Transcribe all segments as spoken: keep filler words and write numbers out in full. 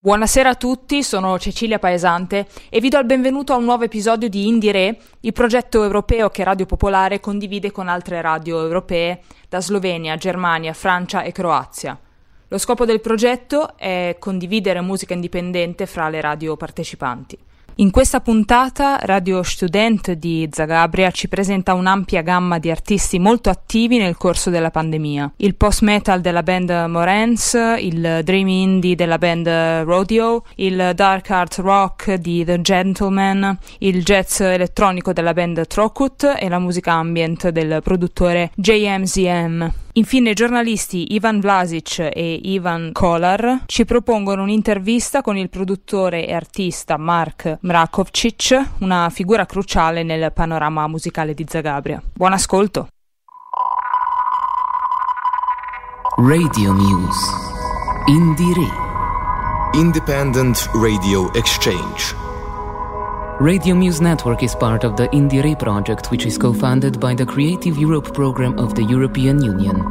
Buonasera a tutti, sono Cecilia Paesante e vi do il benvenuto a un nuovo episodio di Indire, il progetto europeo che Radio Popolare condivide con altre radio europee da Slovenia, Germania, Francia e Croazia. Lo scopo del progetto è condividere musica indipendente fra le radio partecipanti. In questa puntata Radio Student di Zagabria ci presenta un'ampia gamma di artisti molto attivi nel corso della pandemia. Il post-metal della band Morens, il dream indie della band Rodeo, il dark art rock di The Gentleman, il jazz elettronico della band Trokut e la musica ambient del produttore J M Z M. Infine i giornalisti Ivan Vlasic e Ivan Kolar ci propongono un'intervista con il produttore e artista Mark Mrakovčić, una figura cruciale nel panorama musicale di Zagabria. Buon ascolto! Radio Muse Indire Independent Radio Exchange. Radio Muse Network is part of the Indire project, which is co-funded by the Creative Europe program of the European Union.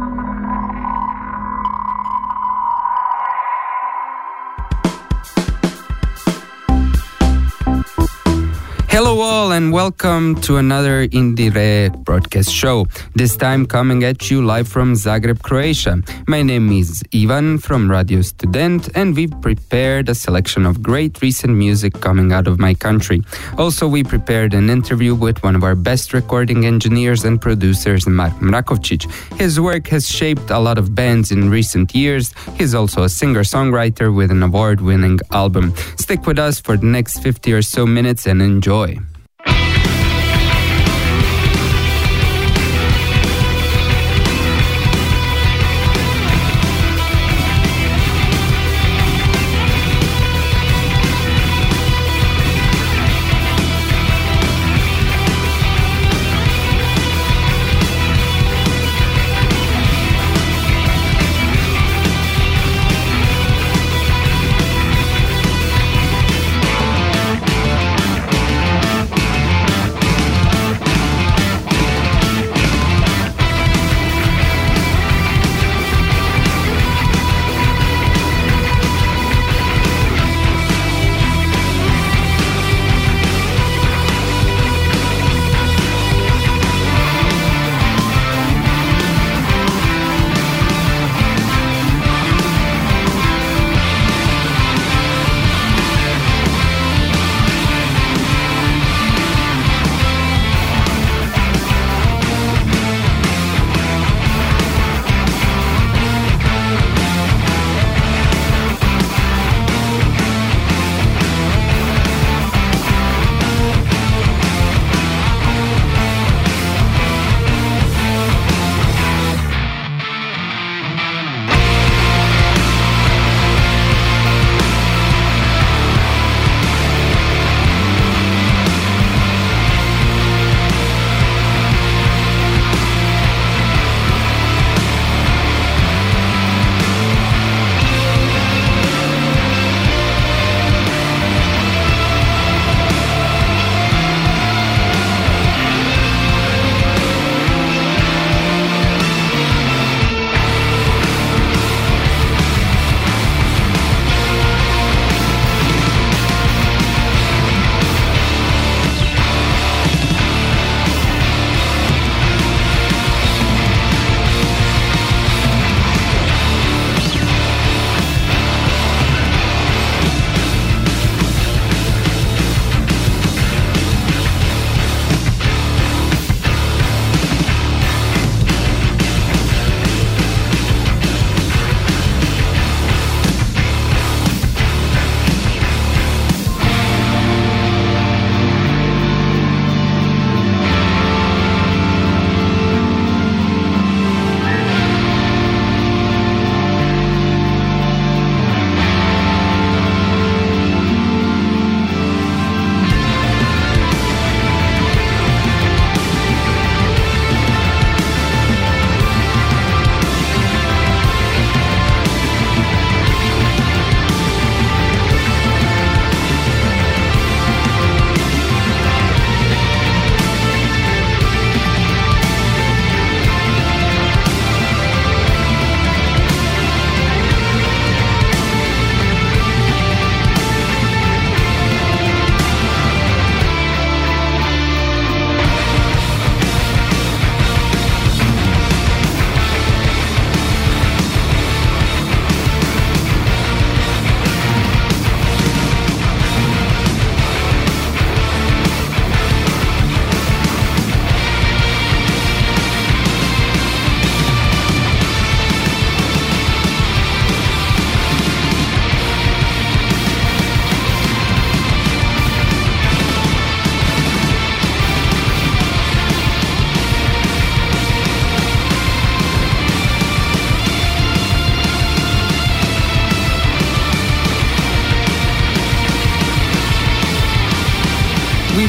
Hello all and welcome to another Indire broadcast show, this time coming at you live from Zagreb, Croatia. My name is Ivan from Radio Student and we've prepared a selection of great recent music coming out of my country. Also, we prepared an interview with one of our best recording engineers and producers, Mark Mrakovčić. His work has shaped a lot of bands in recent years. He's also a singer-songwriter with an award-winning album. Stick with us for the next fifty or so minutes and enjoy.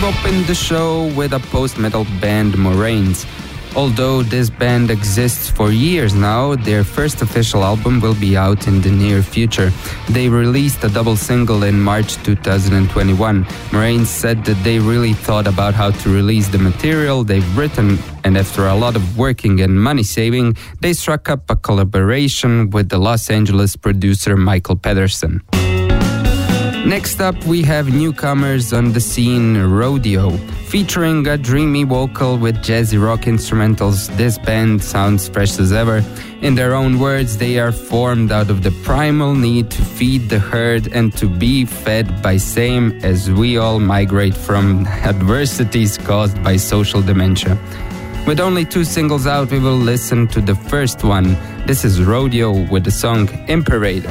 We've opened the show with a post-metal band, Moraines. Although this band exists for years now, their first official album will be out in the near future. They released a double single in March two thousand twenty-one. Moraines said that they really thought about how to release the material they've written, and after a lot of working and money saving, they struck up a collaboration with the Los Angeles producer Michael Pedersen. Next up, we have newcomers on the scene, Rodeo. Featuring a dreamy vocal with jazzy rock instrumentals, this band sounds fresh as ever. In their own words, they are formed out of the primal need to feed the herd and to be fed by same as we all migrate from adversities caused by social dementia. With only two singles out, we will listen to the first one. This is Rodeo with the song Imperator.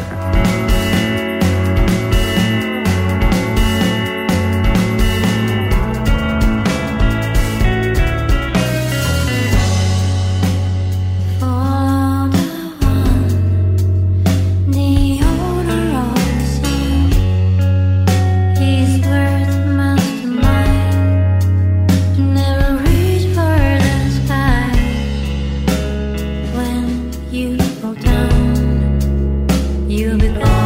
You become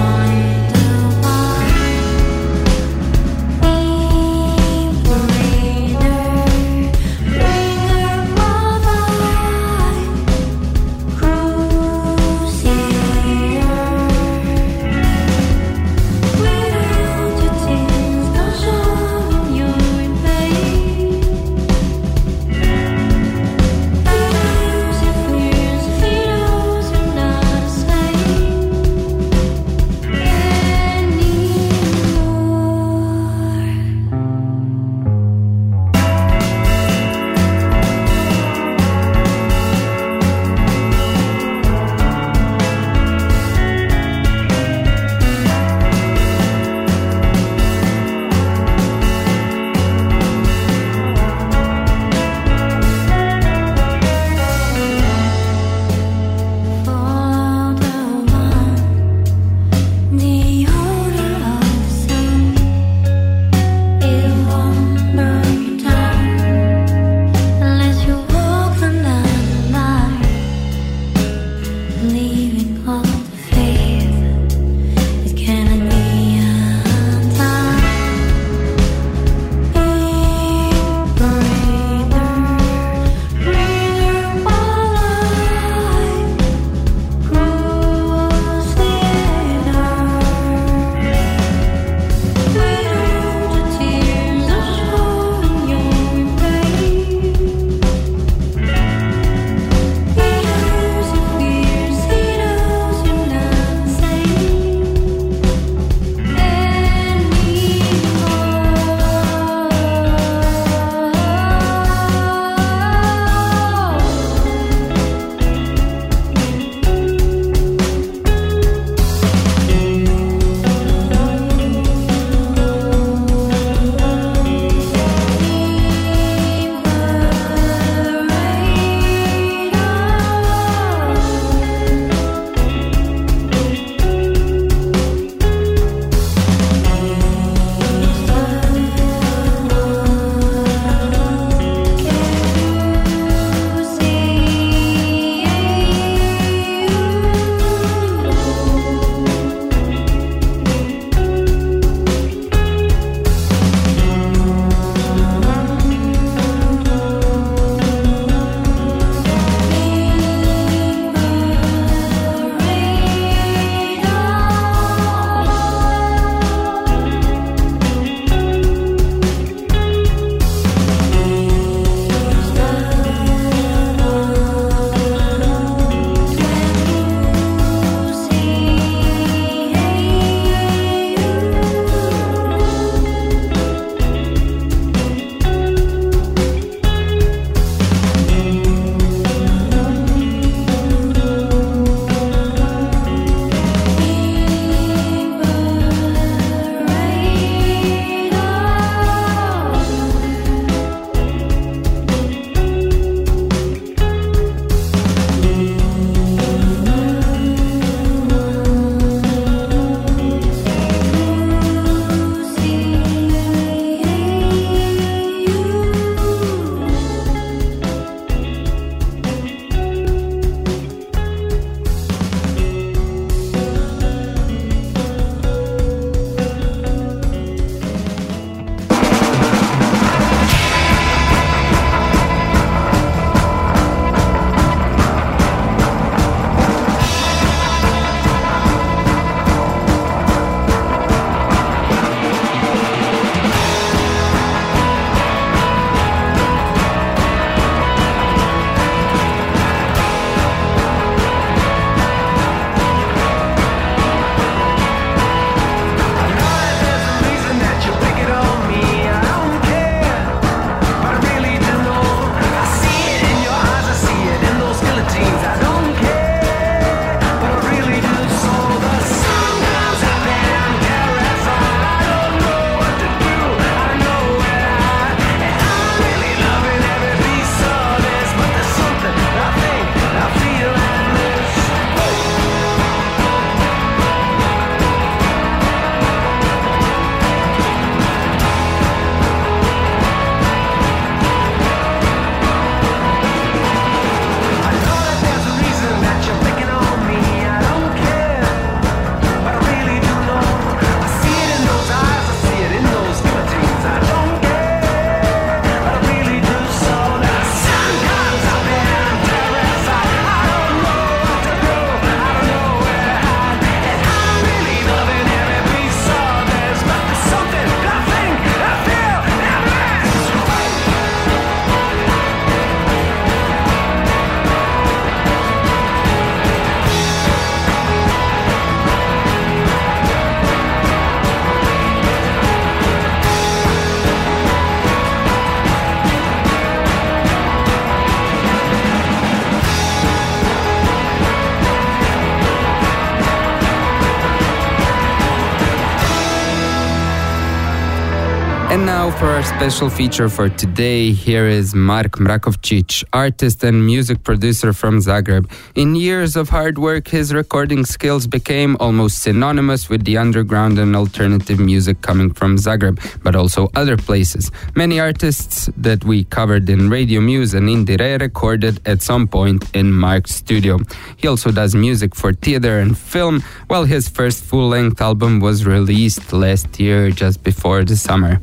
And now for our special feature for today, here is Mark Mrakovčić, artist and music producer from Zagreb. In years of hard work, his recording skills became almost synonymous with the underground and alternative music coming from Zagreb, but also other places. Many artists that we covered in Radio Muse and Indire recorded at some point in Mark's studio. He also does music for theater and film, while his first full-length album was released last year just before the summer.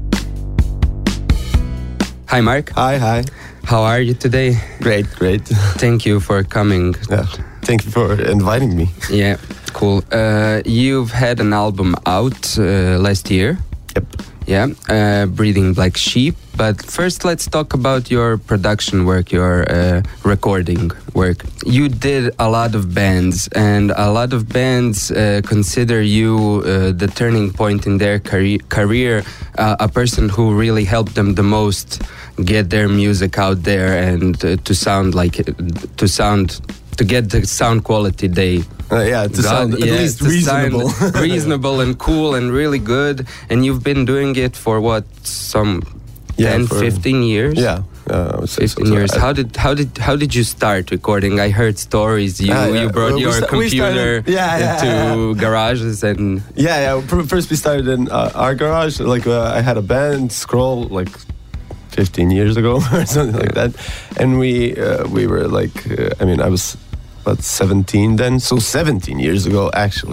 Hi, Mark. Hi, hi. How are you today? Great, great. Thank you for coming. Yeah, thank you for inviting me. Yeah, cool. Uh, you've had an album out uh, last year. Yep. Yeah, uh, Breeding Black Sheep. But first, let's talk about your production work, your uh, recording work. You did a lot of bands, and a lot of bands uh, consider you uh, the turning point in their career, career uh, a person who really helped them the most get their music out there and uh, to sound like to sound to get the sound quality they Uh, yeah, to got, sound at yeah, least to reasonable. sound reasonable and cool and really good. And you've been doing it for what, some Yeah, ten, for- fifteen years? Yeah, uh, I would say so. fifteen So years. I- How did how did how did you start recording? I heard stories. You Ah, yeah. you brought Well, we your sta- we computer started- yeah, yeah, into yeah. garages and Yeah, yeah. Pr- First we started in uh, our garage. Like uh, I had a band, Scroll, like fifteen years ago or something like that. And we uh, we were like, uh, I mean, I was about seventeen then, so seventeen years ago actually.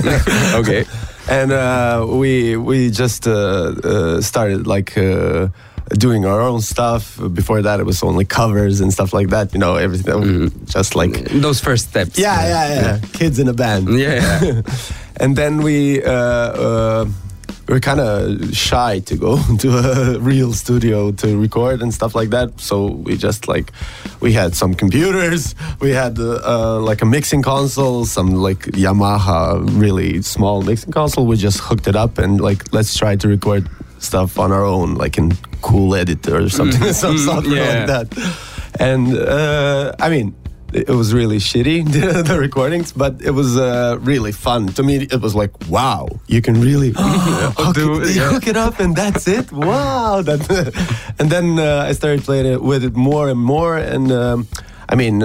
okay. And uh, we we just uh, uh, started like uh, doing our own stuff. Before that, it was only covers and stuff like that. You know, everything Mm. just like Those first steps. yeah, yeah, yeah, kids in a band. Yeah. And then we uh, uh, we were kind of shy to go to a real studio to record and stuff like that. So we just like we had some computers, we had uh, uh, like a mixing console, some like Yamaha really small mixing console. We just hooked it up and like let's try to record stuff on our own, like in Cool Editor or something, some something yeah. like that. And uh, I mean, it was really shitty, the, the recordings, but it was uh, really fun. To me, it was like, wow, you can really hook, Do it, it, yeah. hook it up and that's it. Wow. That, and then uh, I started playing it with it more and more. And um, I mean, uh,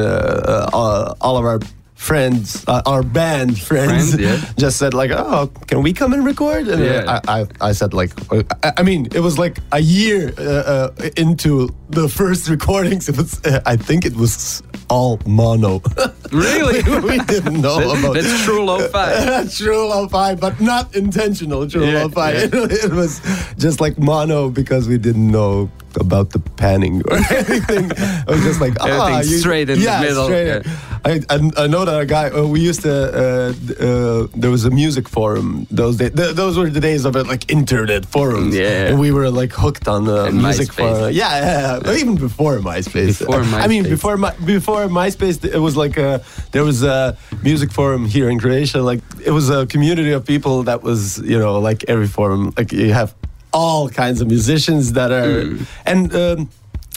uh, all of our friends, uh, our band friends, Friends, yeah. just said like, oh, can we come and record? And Yeah. I, I, I said like, uh, I, I mean, it was like a year uh, uh, into the first recordings. It was, uh, I think it was all mono. Really? We didn't know That- about that's true lo-fi. true lo-fi, but not intentional true Yeah, lo-fi. yeah. It, it was just like mono because we didn't know about the panning or anything. It was just like ah, Everything you- straight in the yeah, middle, straight. yeah. I, I I know that a guy. Uh, we used to. Uh, uh, there was a music forum. Those days. Th- those were the days of it, like internet forums. Yeah. And we were like hooked on uh, And music MySpace. forum. Yeah, yeah, yeah. Even before MySpace. Before I mean, MySpace. before my, before MySpace, it was like a, there was a music forum here in Croatia. Like it was a community of people that was, you know, like every forum. Like you have all kinds of musicians that are, Mm. and. Um,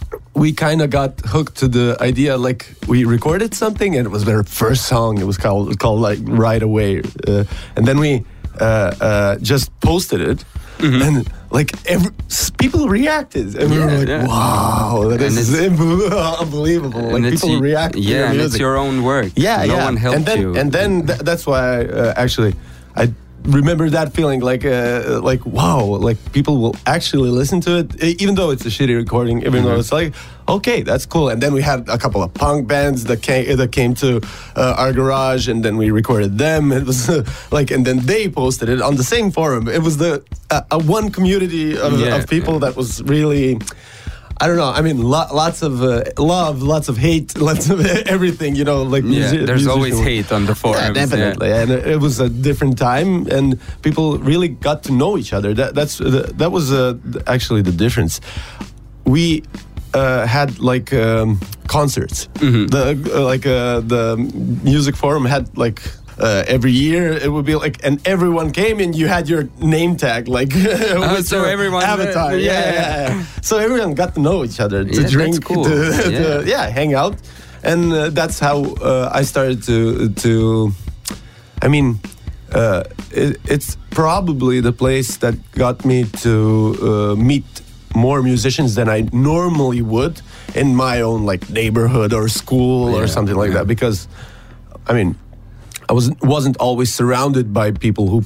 we kind of got hooked to the idea, like we recorded something and it was their first song. It was called called like Right Away, uh, and then we uh, uh, just posted it, Mm-hmm. and like every, s- people reacted, and we Yeah, were like, yeah. "Wow, that And is it's- unbelievable!" And Like it's people y- react. to Yeah, your and music. it's your own work. Yeah, no yeah. one helped and then, you. And then th- that's why uh, actually I remember that feeling like uh, like wow, like people will actually listen to it, e- even though it's a shitty recording, even Mm-hmm. though it's like okay, that's cool. And then we had a couple of punk bands that came that came to uh, our garage, and then we recorded them. It was uh, like, and then they posted it on the same forum. It was the uh, a one community of, Yeah, of people yeah. that was really. I don't know. I mean, lo- lots of uh, love, lots of hate, lots of everything. You know, like yeah, musi- there's always musician- hate on the forums. Yeah, definitely. And it it was a different time, and people really got to know each other. That that's the, that was uh, actually the difference. We uh, had like um, concerts. Mm-hmm. The uh, like uh, the music forum had like. Uh, every year it would be like, and everyone came and you had your name tag, like with so your everyone- avatar. yeah, Yeah, yeah. yeah, yeah. So everyone got to know each other, to Yeah, that's drink, cool. to, Yeah. to yeah, hang out, and uh, that's how uh, I started to to. I mean, uh, it, it's probably the place that got me to uh, meet more musicians than I normally would in my own like neighborhood or school Yeah, or something like yeah. that. Because, I mean, I wasn't wasn't always surrounded by people who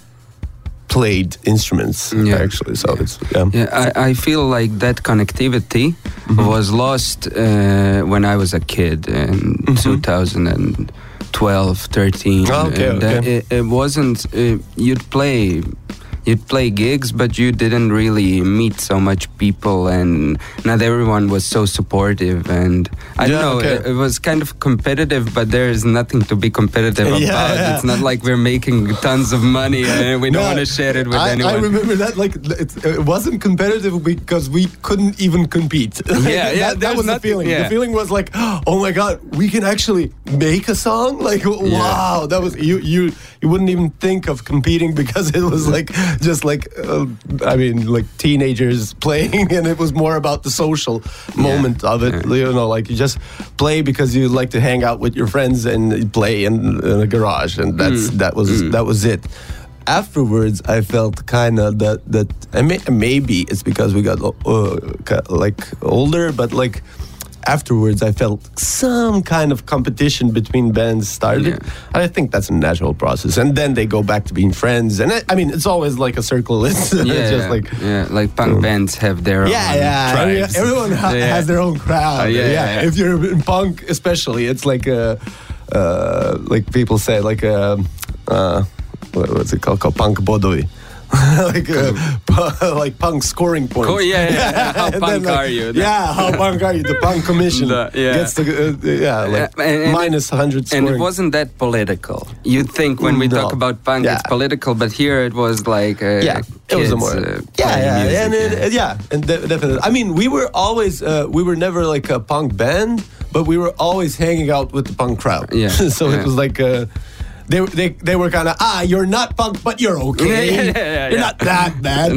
played instruments Yeah. actually. So it's yeah. Yeah, I, I feel like that connectivity Mm-hmm. was lost uh, when I was a kid in Mm-hmm. two thousand twelve, thirteen. Oh, okay, and uh, okay. It, it wasn't, uh, you'd play you'd play gigs, but you didn't really meet so much people, and not everyone was so supportive. And I Yeah, don't know, okay. it, it was kind of competitive, but there is nothing to be competitive Yeah, about. yeah. It's not like we're making tons of money and we don't No, want to share it with I, anyone. I remember that like it, it wasn't competitive because we couldn't even compete. Yeah, yeah, that, that there's was the nothing- feeling. yeah. The feeling was like, oh my god, we can actually make a song. Like, wow, that was you. You you wouldn't even think of competing because it was like just like uh, I mean like teenagers playing, and it was more about the social moment of it. You know, like you just play because you like to hang out with your friends and play in, in a garage, and that's that was that was it. Afterwards, I felt kind of that that and may, maybe it's because we got uh, ca- like older, but like afterwards, I felt some kind of competition between bands started. Yeah. And I think that's a natural process, and then they go back to being friends. And I, I mean, it's always like a circle. It's, Yeah, it's just like. yeah, like punk bands have their Yeah, own yeah. every- tribes. everyone ha- Yeah. has their own crowd. Uh, yeah, yeah, yeah, yeah. If you're in punk, especially, it's like a, uh, like people say, like a, uh, what- what's it called? Called punk bodovi. like uh, pu- like punk scoring points. Oh, yeah, yeah, yeah. How And punk then, like, are you? Yeah, how punk are you? The punk commission The- yeah. gets the uh, yeah like Uh, and- and minus one hundred scoring. And it wasn't that political. You'd think when we No. talk about punk, Yeah. it's political, but here it was like uh, yeah, it was a kids, more uh, yeah, playing yeah, music, and it, yeah. yeah, and de- definitely. I mean, we were always uh, we were never like a punk band, but we were always hanging out with the punk crowd. Yeah, so yeah. it was like. Uh, They, they, they were kind of, ah, you're not punk, but you're okay. Yeah, yeah, yeah, you're yeah. not that bad.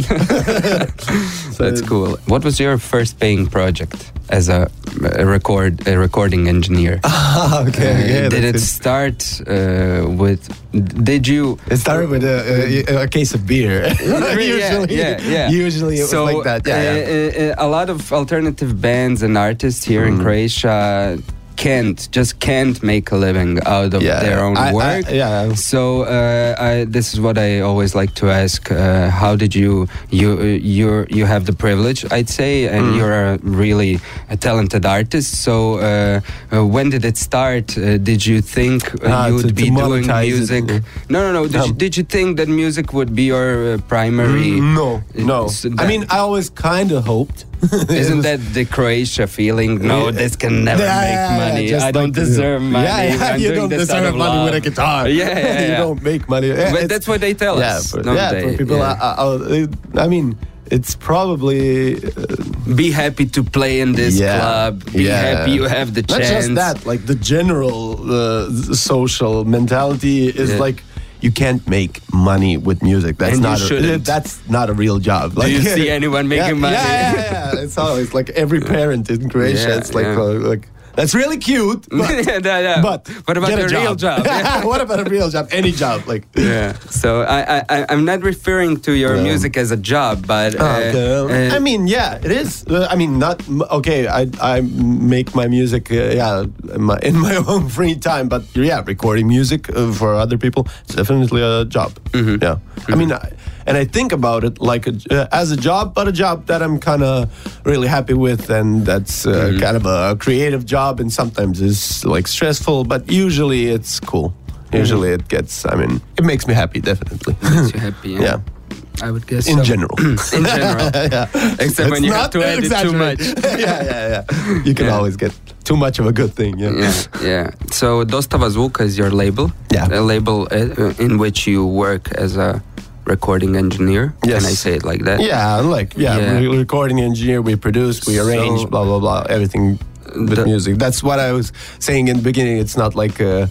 So That's cool. What was your first paying project as a, a record a recording engineer? Ah, okay. Uh, yeah, did it that's start uh, with? Did you? It started with a, a, a case of beer. usually, yeah, yeah, yeah. Usually it so, was like that. Yeah, yeah. uh, uh, a lot of alternative bands and artists here Mm. in Croatia can't just can't make a living out of Yeah, their yeah. own I- I- work. yeah. So uh, I, this is what I always like to ask: uh, How did you you you you have the privilege, I'd say, and Mm. you're a really a talented artist. So uh, uh, when did it start? Uh, did you think uh, Ah, you to- would to be doing monetize it, music? yeah. No, no, no. Did, you, Um, did you think that music would be your uh, primary? Mm, no, no. So I that- mean, I always kind of hoped. Isn't that the Croatia feeling? No, Yeah. this can never Yeah, make yeah, yeah, money. just I don't like, deserve money. Yeah, yeah, I'm you doing don't this out deserve of money love. with a guitar. Yeah, yeah, you yeah. don't make money. Yeah, But it's- that's what they tell yeah, us, for, don't yeah, they? for people. Yeah. I, I, I mean, it's probably uh, Be happy to play in this yeah, club. Be yeah. happy you have the Not chance. just that, like the general uh, social mentality is Yeah. like you can't make money with music. That's And you not a, shouldn't. that's not a real job. Do you see anyone yeah, making money? Yeah, yeah, yeah. It's always like every parent in Croatia. Yeah, it's like yeah. uh, like that's really cute, but, Yeah, yeah, yeah. but what about get the a real job? Yeah. what about a real job? Any job, like Yeah. So I, I, I- I'm not referring to your Yeah. music as a job, but uh, Okay. uh, I mean, yeah, it is. Uh, I mean, not okay. I I make my music, uh, yeah, in my, in my own free time. But yeah, recording music uh, for other people, it's definitely a job. Mm-hmm. Yeah, I mean, I, and I think about it like a, uh, as a job, but a job that I'm kind of really happy with, and that's uh, Mm-hmm. kind of a creative job, and sometimes it's like stressful, but usually it's cool. Usually it gets. I mean, it makes me happy, definitely. makes you happy. Yeah. yeah. I would guess In so. general. In general. yeah. Except when Let's you have not to edit too much. exaggerate. yeah, yeah, yeah. You can Yeah. always get too much of a good thing. Yeah. Yeah, yeah. So Dostava Zvuka is your label. Yeah. A label uh, in which you work as a recording engineer. Yes. Can I say it like that? Yeah, like yeah, Yeah. we're recording engineer, we produce, we arrange, So- blah blah blah, everything with The- music. That's what I was saying in the beginning. It's not like uh,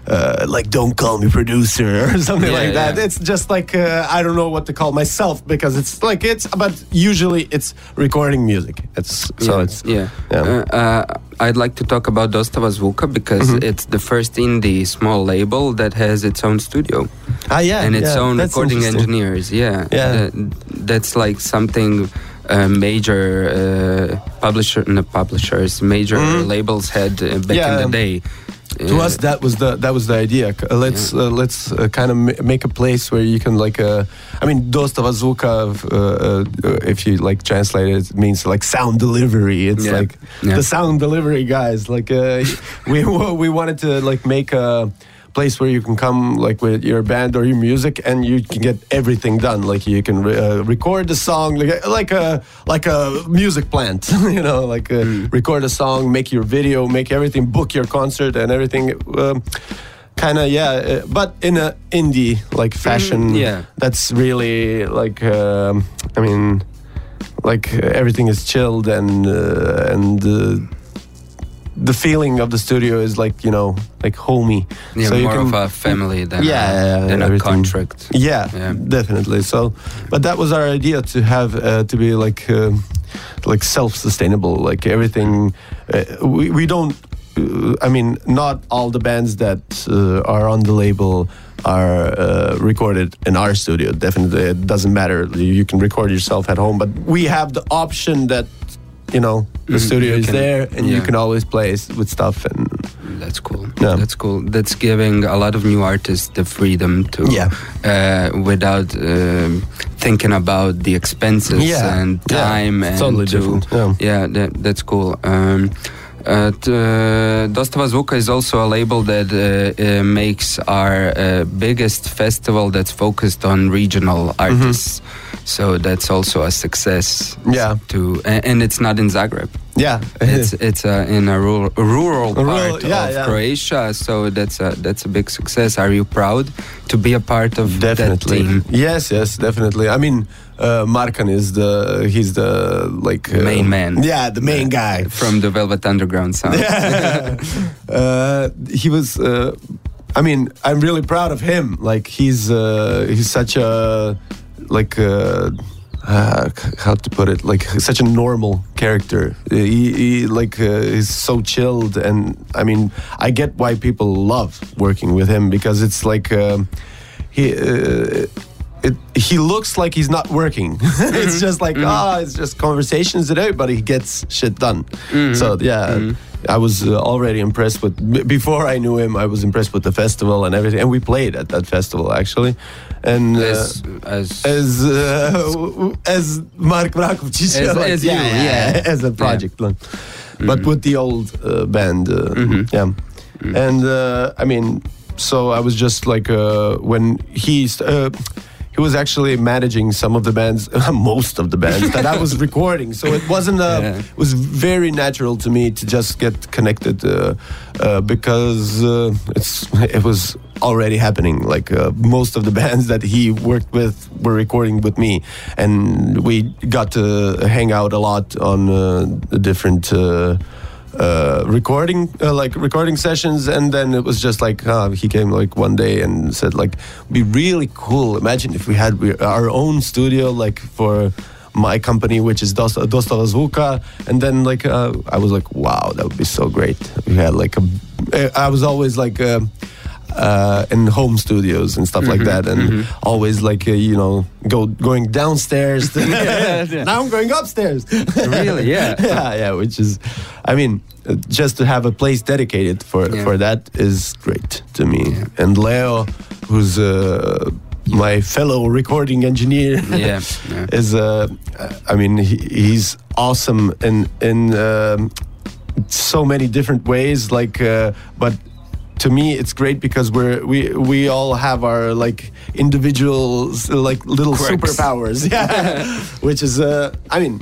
uh, like "Don't call me producer" or something Yeah, like that. yeah. It's just like uh, I don't know what to call myself because it's like it's. But usually it's recording music. It's so yeah, it's yeah. yeah. Uh, uh, I'd like to talk about Dostava Zvuka because Mhm. it's the first indie small label that has its own studio ah yeah and its yeah, own that's recording interesting. engineers. Yeah, Yeah. Uh, that's like something. Uh, major uh, publisher, no, publishers, major Mhm. labels had uh, back Yeah. in the day. To Uh, us, that was the that was the idea. C- Uh, let's uh, let's uh, kind of ma- make a place where you can like. Uh, I mean, Dostava Zvuka, uh, uh, if you like translate it, it means like sound delivery. It's Yeah. like Yeah. the sound delivery guys. Like uh, we we wanted to like make a place where you can come like with your band or your music and you can get everything done. Like you can re- uh, record the song like like a like a music plant, you know, like uh, Mm. record a song, make your video, make everything, book your concert and everything. Um, kind of yeah, uh, but in a indie like fashion. Mm, yeah. That's really like um, I mean, like uh, everything is chilled and uh, and. Uh, the feeling of the studio is like, you know, like homey. yeah, So you more can- of a family than Yeah, a, yeah, than a everything. contract. Yeah, Yeah. definitely. So, but that was our idea to have uh, to be like uh, like self-sustainable. Like everything, uh, we we don't. Uh, I mean, not all the bands that uh, are on the label are uh, recorded in our studio. Definitely, it doesn't matter. You can record yourself at home, but we have the option that. You know, the Mhm, studio you is can- there, and you yeah. can always play s- with stuff. And That's cool. Yeah. That's cool. That's giving a lot of new artists the freedom to, Yeah. uh, without um, thinking about the expenses Yeah. and Yeah. time It's and totally to, different. Yeah. yeah, that, that's cool. Um, uh, t- uh, Dostava Zvuka is also a label that uh, uh, makes our uh, biggest festival that's focused on regional artists. So that's also a success. Yeah. To and, and it's not in Zagreb. yeah, It's it's uh, in a rural, rural A part rural- yeah, of yeah. Croatia, so that's a that's a big success. Are you proud to be a part of definitely. that team? Yes, yes, definitely. I mean, uh, Markan is the he's the like uh, Main man. Yeah, the main guy. From the Velvet Underground sound. uh, he was. Uh, I mean, I'm really proud of him. Like he's uh, he's such a like. Uh, uh, how to put it? Like such a normal character. He, he like uh, he's so chilled, and I mean, I get why people love working with him because it's like um, he. Uh, It, he looks like he's not working. It's just like, ah, it's just conversations and everybody gets shit done. So, yeah, I was uh, already impressed with, b- before I knew him, I was impressed with the festival and everything. And we played at that festival, actually. And uh, As, as, as uh, as Mark Vrakovčić, As- as you, yeah. as a project, like. But with the old uh, band, uh, yeah. And uh, I mean, so I was just like uh, when he st- uh, he was actually managing some of the bands, most of the bands that I was recording. So it wasn't a, Yeah. it was very natural to me to just get connected uh, uh, because uh, it's it was already happening. Like uh, most of the bands that he worked with were recording with me, and we got to hang out a lot on uh, the different. Uh, Uh, recording uh, like recording sessions, and then it was just like uh, he came like one day and said like, "Be really cool. Imagine if we had we, our own studio like for my company, which is Dost- Dostava Zvuka." And then like uh, I was like, "Wow, that would be so great." We had like a. I was always like. Uh, Uh, in home studios and stuff like that, and always like uh, you know go going downstairs. To, now I'm going upstairs. Really? Yeah. yeah, yeah. Which is, I mean, uh, just to have a place dedicated for Yeah. for that is great to me. Yeah. And Leo, who's uh, my fellow recording engineer, Yeah, yeah. is uh, I mean he, he's awesome in in um, so many different ways. Like, uh, but. To me, it's great because we're we we all have our like individual like little Quirks. superpowers, yeah. Which is, uh, I mean,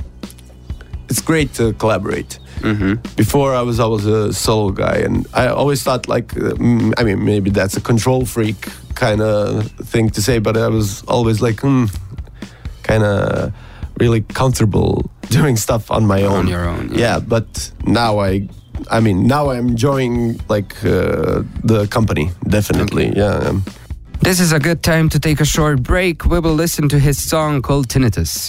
it's great to collaborate. Mm-hmm. Before I was always a solo guy, and I always thought like, uh, mm, I mean, maybe that's a control freak kind of thing to say, but I was always like, hmm, kind of really comfortable doing stuff on my own. On your own, yeah. yeah. But now I. I mean, now I'm enjoying like uh, the company, definitely. Okay. Yeah. Um. This is a good time to take a short break. We will listen to his song called Tinnitus.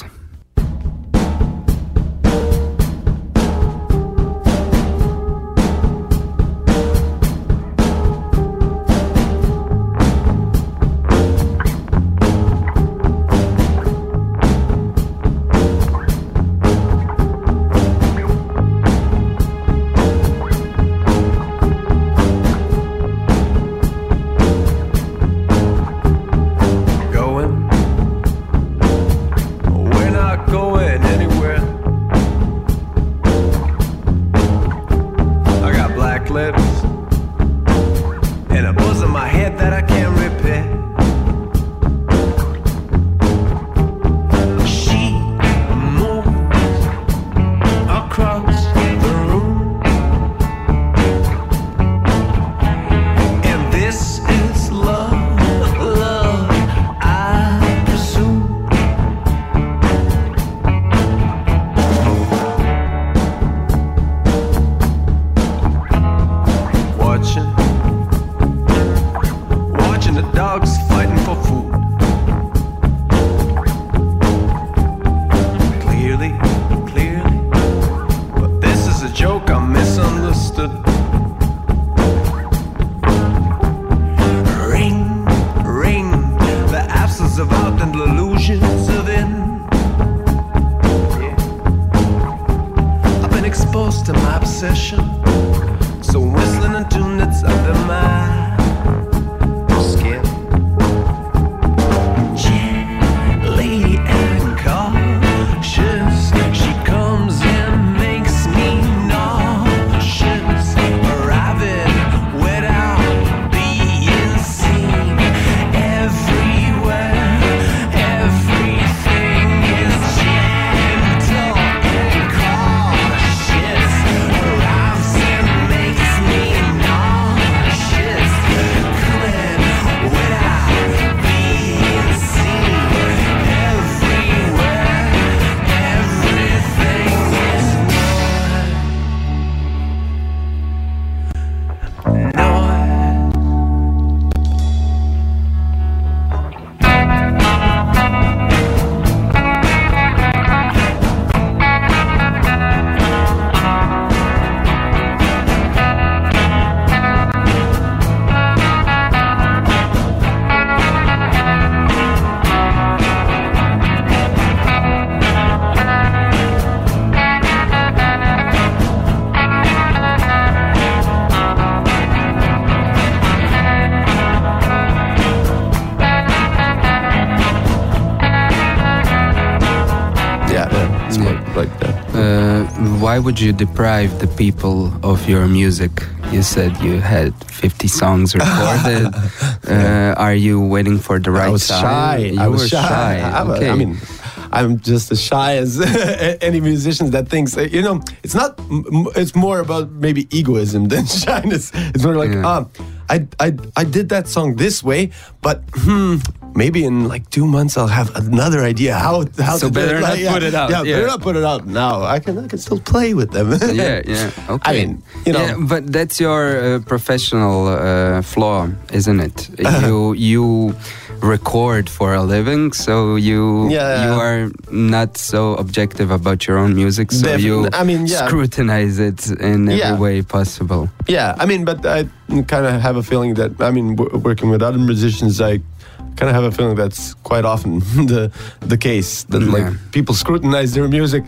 Why would you deprive the people of your music? You said you had fifty songs recorded. uh, are you waiting for the right I was time? shy. You I was were shy. shy. I'm Okay. a, I mean, I'm just as shy as any musician that thinks, you know, it's not, it's more about maybe egoism than shyness. It's more like, Yeah. ah, I, I, I did that song this way, but hmm, maybe in like two months I'll have another idea how how So to do better it. not Like, yeah, put it out, Yeah, yeah. better not put it out now. I can I can still play with them. yeah, yeah. Okay. I mean, you know, Yeah, but that's your uh, professional uh, flaw, isn't it? you you record for a living, so you Yeah. you are not so objective about your own music, so Defin- you I mean, yeah. scrutinize it in every Yeah. way possible. yeah. I mean, but I kind of have a feeling that I mean, w- working with other musicians, I kind of have a feeling that's quite often the the case that Yeah. like people scrutinize their music,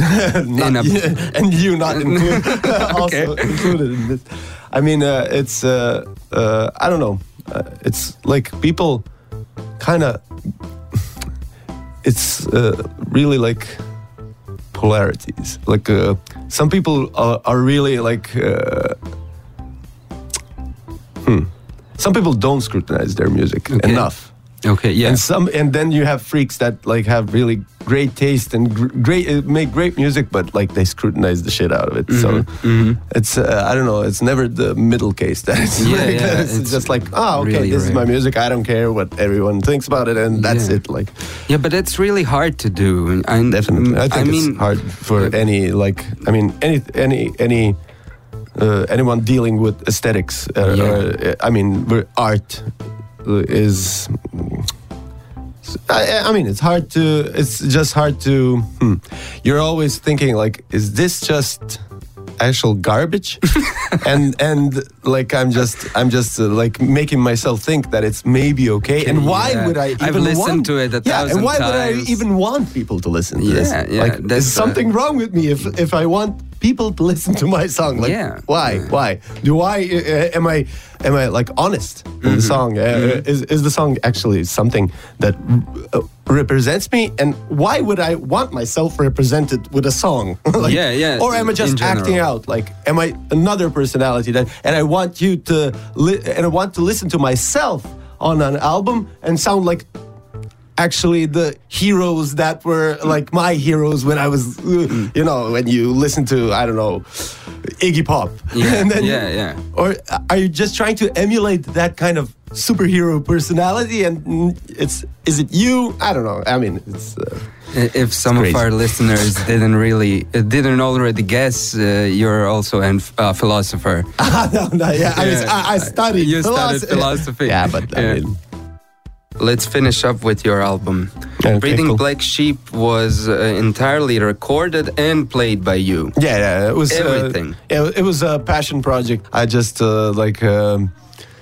not In a- you, and you not include, also Okay. included in this. I mean, uh, it's uh, uh, I don't know. Uh, it's like people kind of. It's uh, really like polarities. Like uh, some people are, are really like. Uh, hmm. Some people don't scrutinize their music Okay. enough. Okay, yeah. And some, and then you have freaks that like have really great taste and gr- great uh, make great music, but like they scrutinize the shit out of it. So Mhm. it's uh, I don't know. It's never the middle case that it's Yeah, like, yeah, it's, it's just like oh okay, really this is rare. my music. I don't care what everyone thinks about it, and that's Yeah. it. Like Yeah, but that's really hard to do. I, definitely, I think I mean, it's hard for any like I mean any any any uh, anyone dealing with aesthetics. Uh, Yeah. uh, I mean, where art uh, is. I, I mean, it's hard to. It's just hard to. Hmm. You're always thinking like, is this just actual garbage? and and like I'm just I'm just uh, like making myself think that it's maybe okay. And why Yeah. would I even I've listened want, to it a yeah, thousand and why would I times. even want people to listen to Yeah, this? yeah, Like, that's, is something wrong with me if if I want people to listen to my song? Like, Yeah. why? Yeah. Why? Do I uh, am I am I like honest in Mm-hmm. the song? Uh, Is is the song actually something that uh, represents me? And why would I want myself represented with a song? Like, Yeah, yeah, Or am I in just general. acting out? Like, am I another personality that? And I want you to li- and I want to listen to myself on an album and sound like actually the heroes that were like my heroes when I was, uh, you know, when you listen to, I don't know, Iggy Pop. Yeah, and then, yeah, yeah. Or are you just trying to emulate that kind of superhero personality? And mm, it's, is it you? I don't know. I mean, it's. Uh, If some crazy. of our listeners didn't really uh, didn't already guess, uh, you're also a uh, philosopher. no, no, yeah. I, was, I, I studied You studied philosophy. philosophy. Yeah, but I Yeah. mean. Let's finish up with your album. Okay, Breeding cool. Black Sheep was uh, entirely recorded and played by you. Yeah, yeah, it was uh, Everything. yeah, it was a passion project. I just uh, like, um,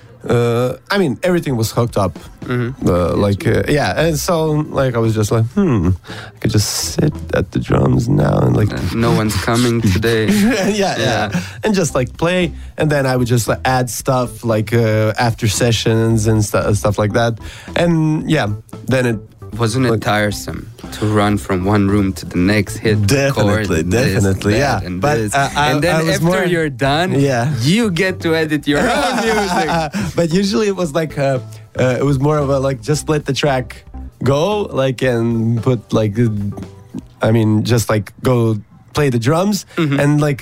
uh, I mean, everything was hooked up. Mm-hmm. Uh, like, uh, yeah, and so like I was just like, hmm, I could just sit at the drums now and like, Uh, no one's coming today. yeah, yeah, Yeah. and just like play, and then I would just like add stuff like uh, after sessions and stu- stuff like that, and yeah, then it. Wasn't it Like- tiresome to run from one room to the next, hit the chord, Definitely, and this, definitely, that, yeah. and But, this. uh, I- and then I was after more- you're done, Yeah. you get to edit your own music. But usually it was like uh, uh, it was more of a like just let the track go, like and put like uh, I mean just like go play the drums Mm-hmm. and like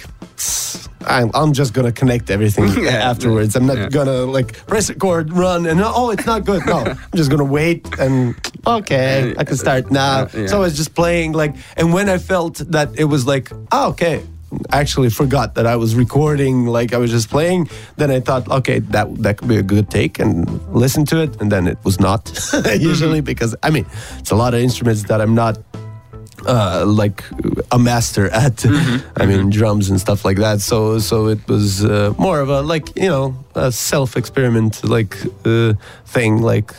I'm, I'm just gonna connect everything Yeah, afterwards. I'm not yeah. gonna like press record, run, and oh, it's not good. No, I'm just gonna wait and okay, I can start now. Uh, yeah. So I was just playing like, and when I felt that it was like, oh, okay. I actually forgot that I was recording, like I was just playing. Then I thought, okay, that that could be a good take and listen to it. And then it was not usually because I mean, it's a lot of instruments that I'm not uh, like a master at. I mean, drums and stuff like that. So so it was uh, more of a like you know a self experiment like uh, thing. Like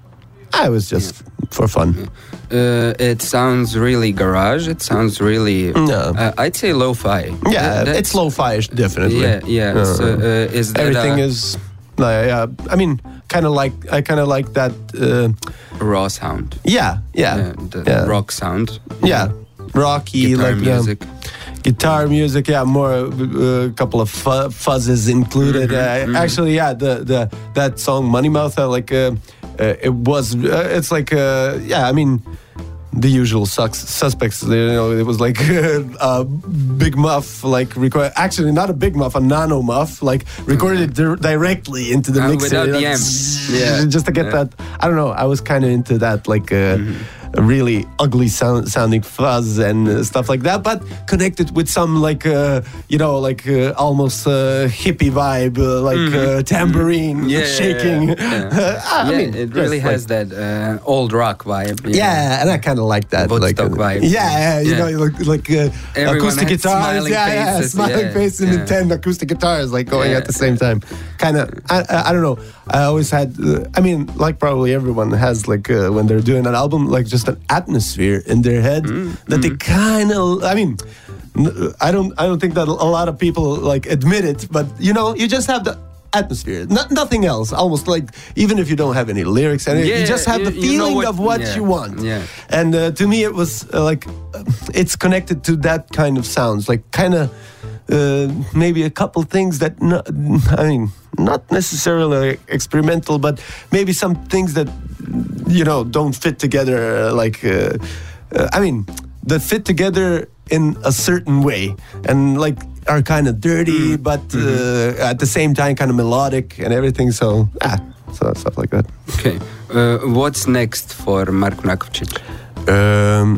I was just for fun. Uh, it sounds really garage. It sounds really, Yeah. uh, I'd say lo-fi. Yeah, That- that's- it's lo-fi-ish, definitely. Yeah, yeah. Uh, so, uh, is that Everything a is, uh, yeah. I mean, kind of like I kind of like that. Uh, raw sound? yeah, yeah, Yeah, the yeah. rock sound. yeah, rocky Guitar like yeah. music. Guitar music, yeah, more a uh, couple of fu- fuzzes included. Mm-hmm, uh, Actually, yeah, the the that song Money Mouth, uh, like uh, uh, it was. Uh, it's like uh, yeah, I mean. The usual sucks, suspects, you know, it was like a Big Muff, like record. Actually, not a Big Muff, a Nano Muff, like recorded di- directly into the Uh, mixer. without the like, amp. Yeah. just to get Yeah. that. I don't know. I was kind of into that, like uh, a really ugly sound, sounding fuzz and uh, stuff like that, but connected with some like uh, you know, like uh, almost uh, hippie vibe, uh, like uh, tambourine Yeah, shaking. yeah, yeah. I yeah, mean, it really just, has like, that uh, old rock vibe. yeah, and I kind of like that. Woodstock like, vibe. Yeah, you Yeah. know, like, like uh, Everyone acoustic had guitars. smiling Yeah, yeah, faces, smiling yeah, face and yeah. then ten acoustic guitars like going Yeah, at the same time. Kind of, I, I, I don't know. I always had, uh, I mean, like probably everyone has like uh, when they're doing an album, like just an atmosphere in their head Mm, that they kind of, I mean, n- I don't, I don't think that a lot of people like admit it, but you know, you just have the atmosphere, no, nothing else. Almost like even if you don't have any lyrics, and Yeah, you just have you- the you know feeling what- of what yeah, you want. yeah. And uh, to me, it was uh, like uh, it's connected to that kind of sounds, like kind of uh, maybe a couple things that no, I mean, not necessarily experimental, but maybe some things that you know don't fit together. Uh, like uh, uh, I mean, that fit together in a certain way, and like are kind of dirty, but uh, at the same time kind of melodic and everything. So ah, so stuff like that. Okay. Uh, what's next for Marko Nakovčić? Um,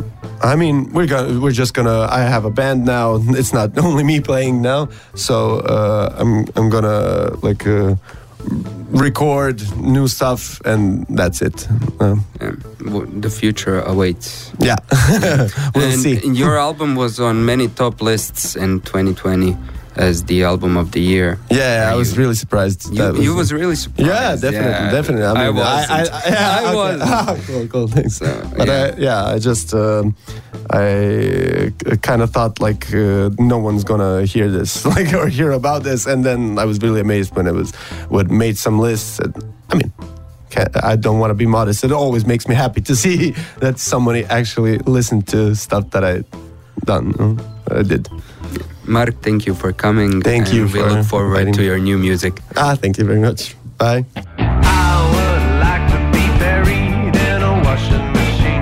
I mean, we're gonna, we're just gonna. I have a band now. It's not only me playing now, so uh, I'm I'm gonna like uh, record new stuff, and that's it. Um, Yeah, w- the future awaits. yeah, we'll and see. Your album was on many top lists in twenty twenty as the album of the year. Yeah, Are I was you- really surprised. You, that you was really surprised. Yeah, definitely, Yeah. definitely. I, I mean, wasn't. I, I, yeah, I okay. wasn't. Ah, cool, cool, thanks. So, but yeah. I, yeah, I just, um, I kind of thought like uh, no one's gonna hear this, like or hear about this, and then I was really amazed when it was, what made some lists. And, I mean, can't, I don't want to be modest. It always makes me happy to see that somebody actually listened to stuff that I done, you know, I did. Mark, thank you for coming. Thank and you we for look forward inviting to me. your new music. Ah, thank you very much. Bye. I would like to be buried in a washing machine.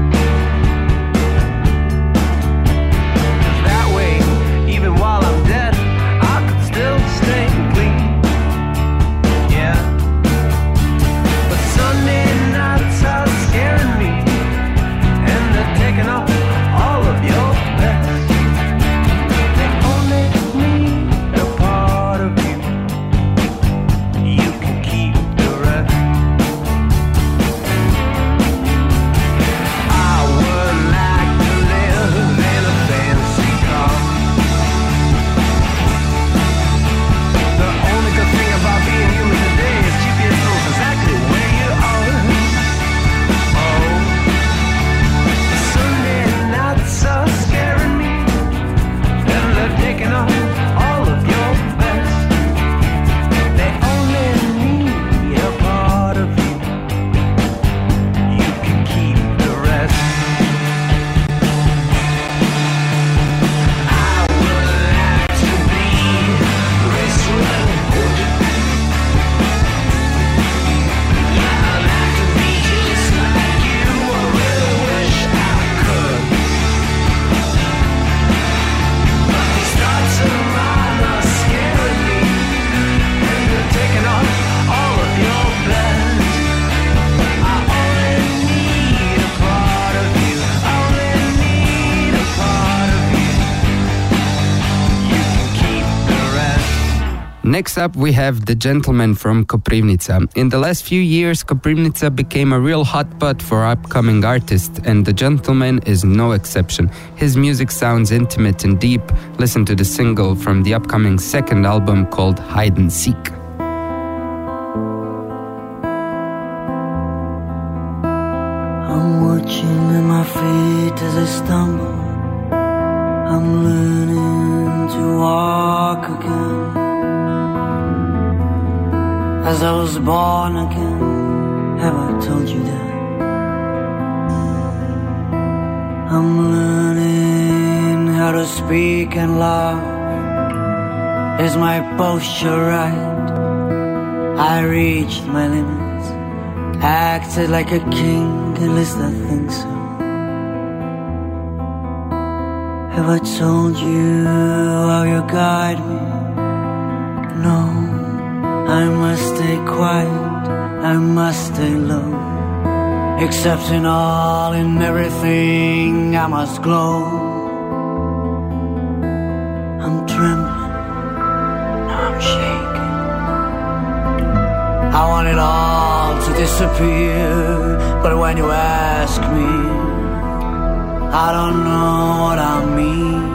'Cause that way, even while I'm dead, I could still stay clean. Yeah. But Sunday nights are scaring me, and they're taking off all of your best. They only need a part of you. You can keep the rest. I would like to live in a fancy car. The only good thing about being human today is G P S knows exactly where you are. Oh, the Sunday nights are scaring me, and they're taking off all of your best. They only need a part of you. You can keep the rest. I would like to be Racewood. Yeah, I'd like to be just like you. I really wish I could. But these thoughts of mine are scaring me, and they're taking off all of your best. I only need a part of you. I only need a part of you. You can keep the rest. Next up, we have The Gentleman from Koprivnica. In the last few years, Koprivnica became a real hotspot for upcoming artists, and The Gentleman is no exception. His music sounds intimate and deep. Listen to the single from the upcoming second album called Hide and Seek. I'm watching at my feet as I stumble. I'm learning to walk again. As I was born again, have I told you that? I'm learning how to speak and laugh. Is my posture right? I reached my limits, acted like a king, at least I think so. Have I told you how you guide me? No, I must stay quiet, I must stay low. Accepting all and everything, I must glow. I'm trembling, now I'm shaking. I want it all to disappear, but when you ask me, I don't know what I mean.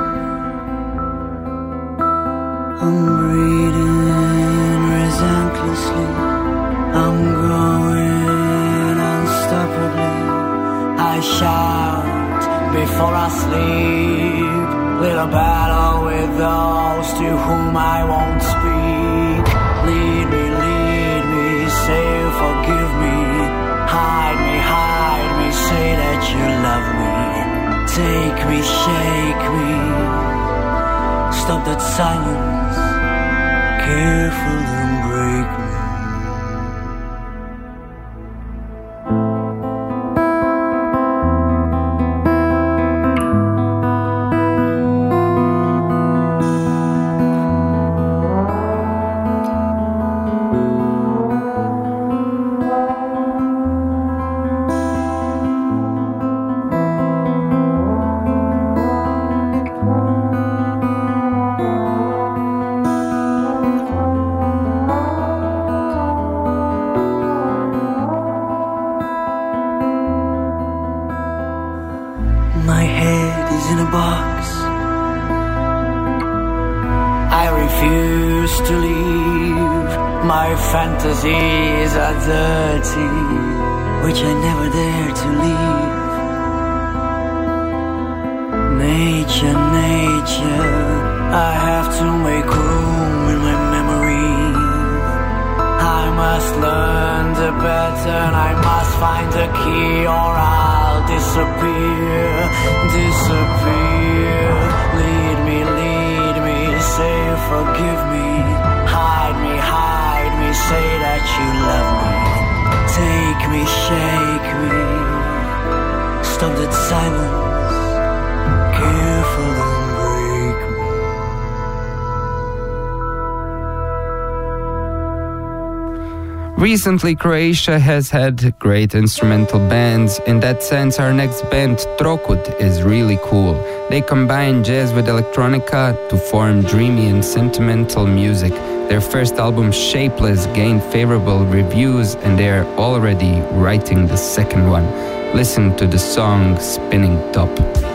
I'm breathing relentlessly, I'm growing unstoppably. I shout before I sleep, little battle with those to whom I won't speak. Lead me, lead me, say you forgive me. Hide me, hide me, say that you love me. Take me, shake me, stop that silence, careful and break me. My head is in a box. I refuse to leave. My fantasies are dirty, which I never dare to leave. Nature, nature, I have to make room in my memory. I must learn the pattern, I must find the key, or I'll disappear, disappear. Lead me, lead me, say forgive me. Hide me, hide me, say that you love me. Take me, shake me, stop that silence, careful and break me. Recently, Croatia has had great instrumental bands. In that sense, our next band, Trokut, is really cool. They combine jazz with electronica to form dreamy and sentimental music. Their first album, Shapeless, gained favorable reviews, and they are already writing the second one. Listen to the song Spinning Top.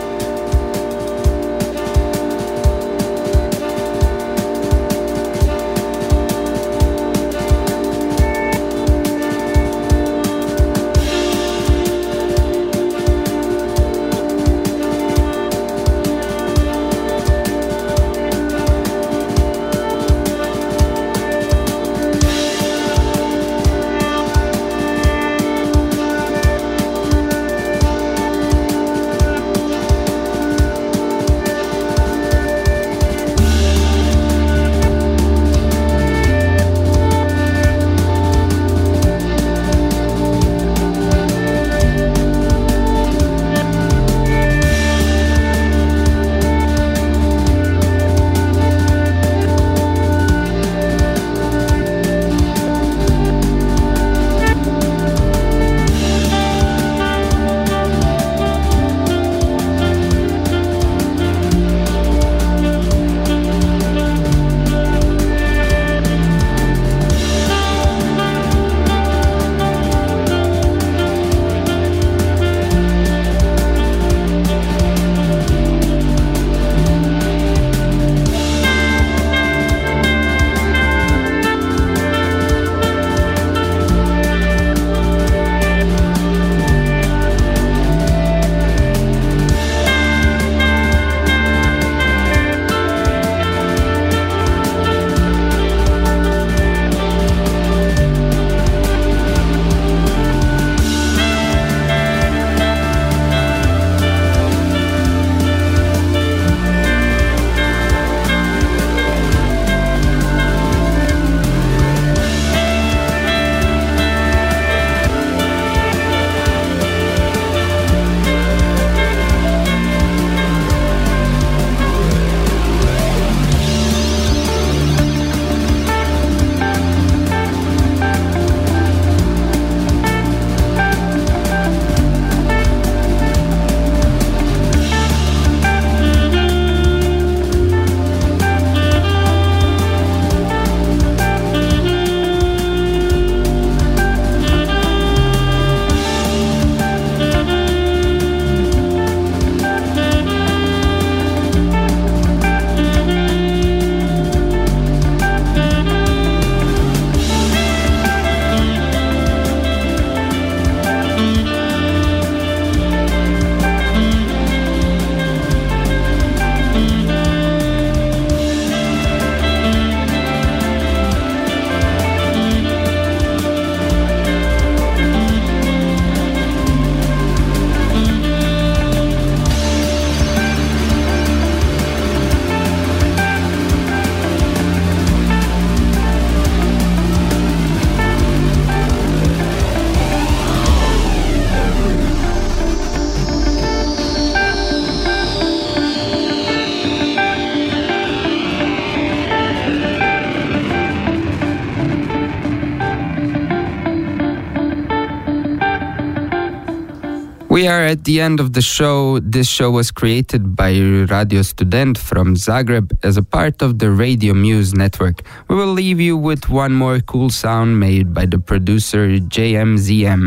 We are at the end of the show. This show was created by Radio Student from Zagreb as a part of the Radio Muse network. We will leave you with one more cool sound made by the producer J M Z M.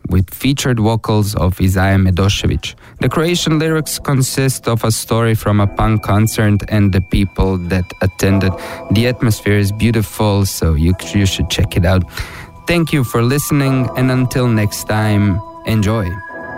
with featured vocals of Isaiah Medošević. The Croatian lyrics consist of a story from a punk concert and the people that attended. The atmosphere is beautiful, so you, you should check it out. Thank you for listening, and until next time, enjoy.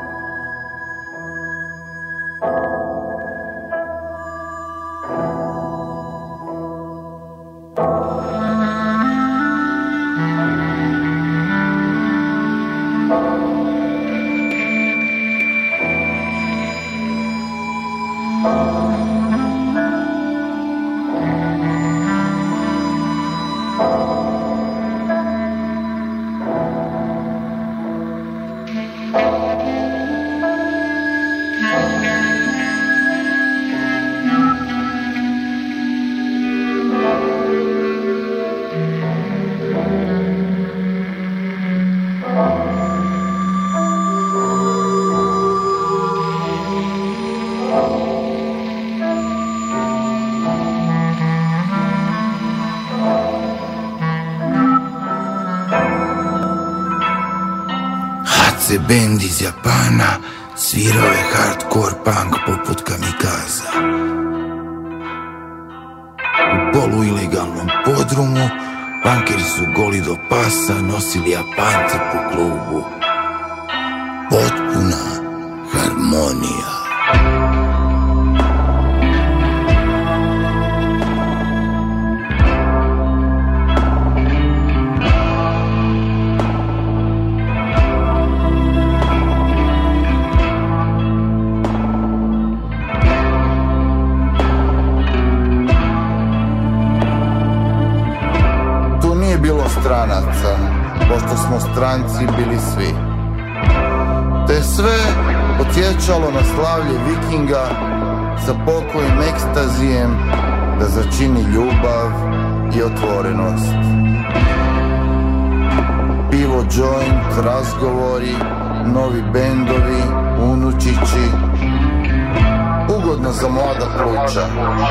Band iz Japana svirao je hardcore punk poput Kamikaza. U poluilegalnom podrumu punkeri su goli do pasa nosili Japance po klubu. Potpuna harmonija. Stranaca, pošto smo stranci bili svi. Te sve podsjećalo na slavlje vikinga sa pokojim ekstazijem da začini ljubav i otvorenost. Pivo, joint, razgovori, novi bendovi, unučići. Ugodno za mlada pluća.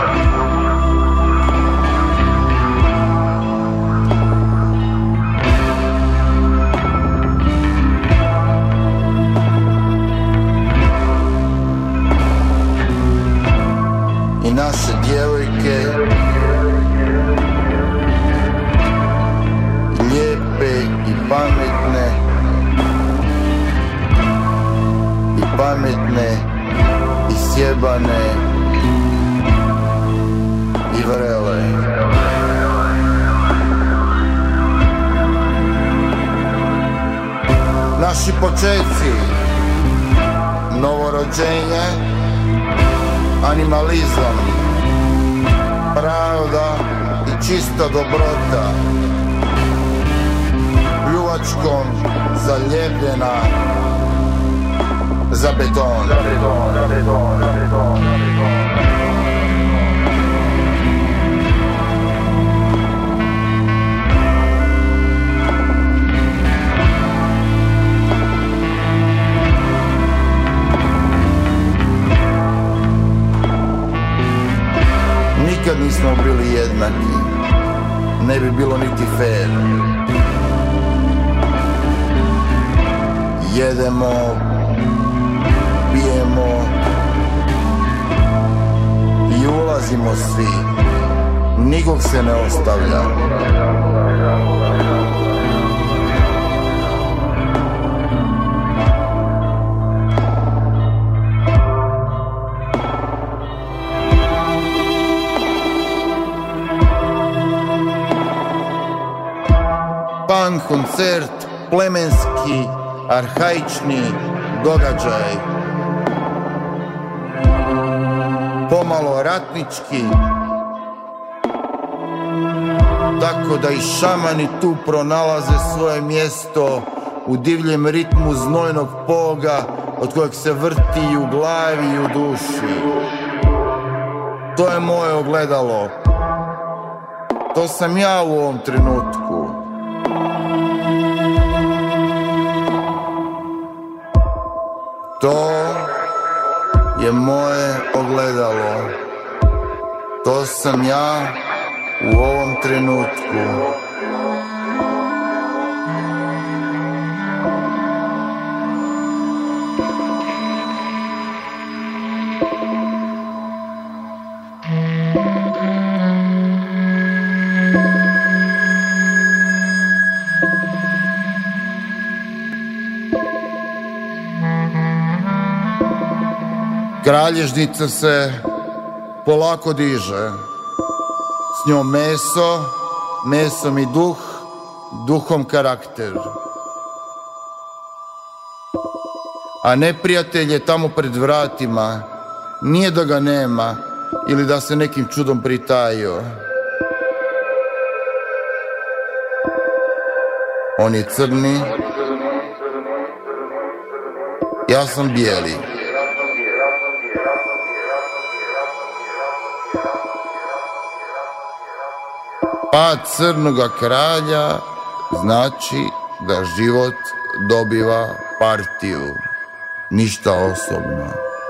I naše djevojke, lijepe i pametne, i pametne, i sjebane, i vrele. Naši počeci, novorođenje, animalizam, pravda i čista dobrota, pljuvačkom zaljepljena za beton. Za beton, za beton, za beton, za beton. Nikad nismo bili jednaki, ne bi bilo niti fair. Jedemo, pijemo i ulazimo svi, nikog se ne ostavlja. Punk koncert, plemenski, arhaični događaj. Pomalo ratnički, tako da i šamani tu pronalaze svoje mjesto u divljem ritmu znojnog poga od kojeg se vrti i u glavi i u duši. To je moje ogledalo. To sam ja u ovom trenutku. To je moje ogledalo. To sam ja u ovom trenutku. Kralježnica se polako diže. S njom meso, mesom i duh, duhom karakter. A neprijatelj je tamo pred vratima. Nije da ga nema ili da se nekim čudom pritajio. On je crni, ja sam bijeli. Pad crnoga kralja znači da život dobiva partiju. Ništa osobno.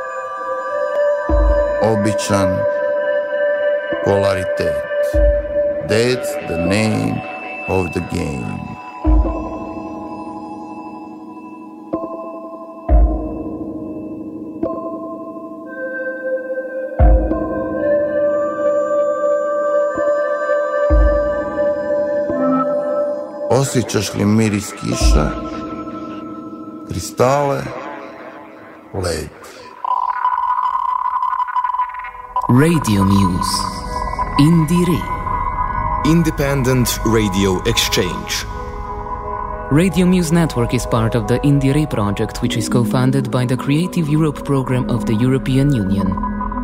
Običan polaritet. That's the name of the game. Osjećaš li miris kiša, kristale, led? Radio Muse. Indire. Independent Radio Exchange. Radio Muse Network is part of the Indire project, which is co-funded by the Creative Europe program of the European Union.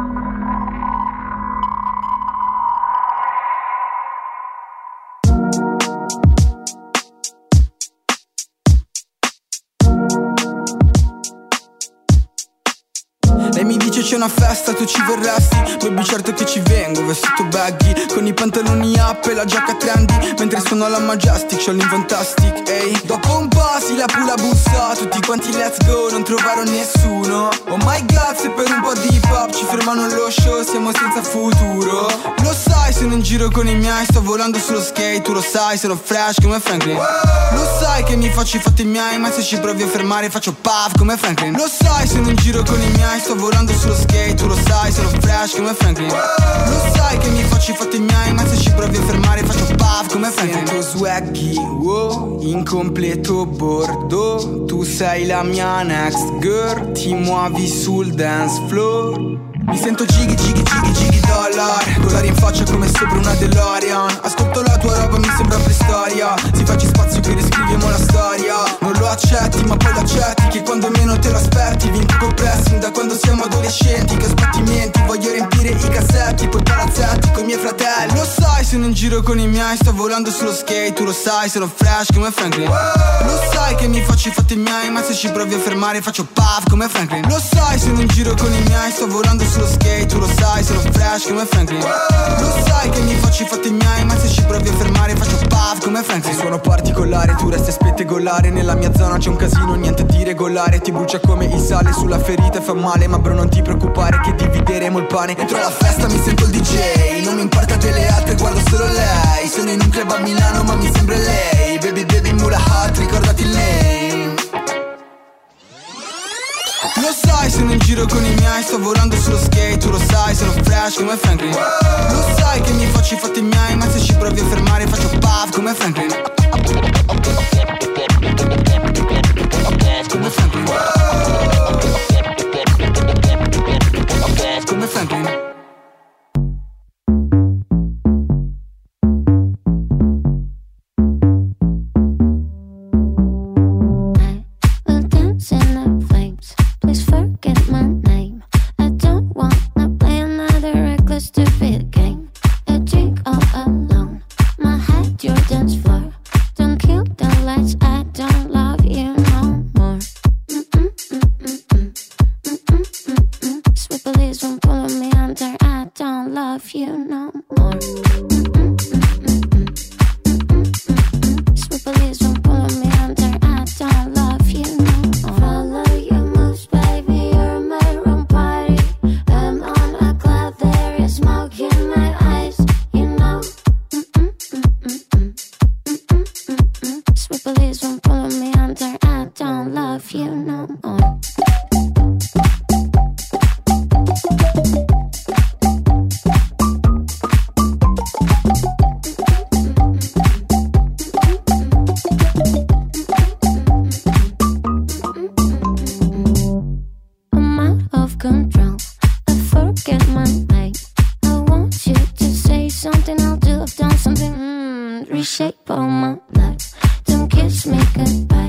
C'è una festa, tu ci verresti? Baby certo che ci vengo, vestito baggy, con i pantaloni up e la giacca trendy, mentre suono alla Majestic, c'ho l'Infantastic, ehi. Dopo un po' si la pula bussa, tutti quanti let's go, non trovarono nessuno. Oh my god, se per un po' di hip hop ci fermano lo show, siamo senza futuro. Lo sai, sono in giro con i miei, sto volando sullo skate, tu lo sai, sono fresh come Franklin. Lo sai che mi faccio i fatti miei, ma se ci provi a fermare faccio puff come Franklin. Lo sai, sono in giro con i miei, sto volando sullo skate, tu lo sai, sono fresh come Franklin. Lo sai che mi faccio i fatti miei, ma se ci provi a fermare faccio puff come Franklin. Sento swaggy, wow, incompleto bordo, tu sei la mia next girl, ti muovi sul dance floor. Mi sento gigi, gigi, gigi, gigi dollar, dollari in faccia come sopra una DeLorean. Ascolto la tua roba, mi sembra preistoria, si faccia spazio che riscriviamo la storia. Non lo accetti, ma poi lo accetti, che quando meno te lo aspetti. Vinco col pressing da quando siamo adolescenti, che sbattimenti, voglio riempire i cassetti, poi palazzetti coi miei fratelli. Lo sai, sono in giro con i miei, sto volando sullo skate, tu lo sai, sono fresh come Franklin. Lo sai che mi faccio i fatti miei, ma se ci provi a fermare faccio puff come Franklin. Lo sai, sono in giro con i miei, sto volando sullo skate, tu lo sai, sono fresh come Franklin. Lo sai che mi faccio i fatti miei, ma se ci provi a fermare faccio puff come Franklin. Suono particolare, tu resti a spettegolare, nella mia zona c'è un casino, niente di regolare, ti brucia come il sale sulla ferita e fa male, ma bro non ti preoccupare che divideremo il pane. Entro alla festa mi sento il D J, non mi importa delle altre, guardo solo lei. Sono in un club a Milano ma mi sembra lei. Baby baby mula hot, ricordati il name. Lo sai, sono in giro con i miei, sto volando sullo skate, tu lo sai, sono fresh come Franklin. Lo sai che mi faccio i fatti miei, ma se ci provi a fermare faccio puff come Franklin. Come Franklin. Come Franklin. Your dance floor, don't kill the lights out. get my night. I want you to say something, I'll do, I've done something. Mm, reshape all my life. Don't kiss me goodbye.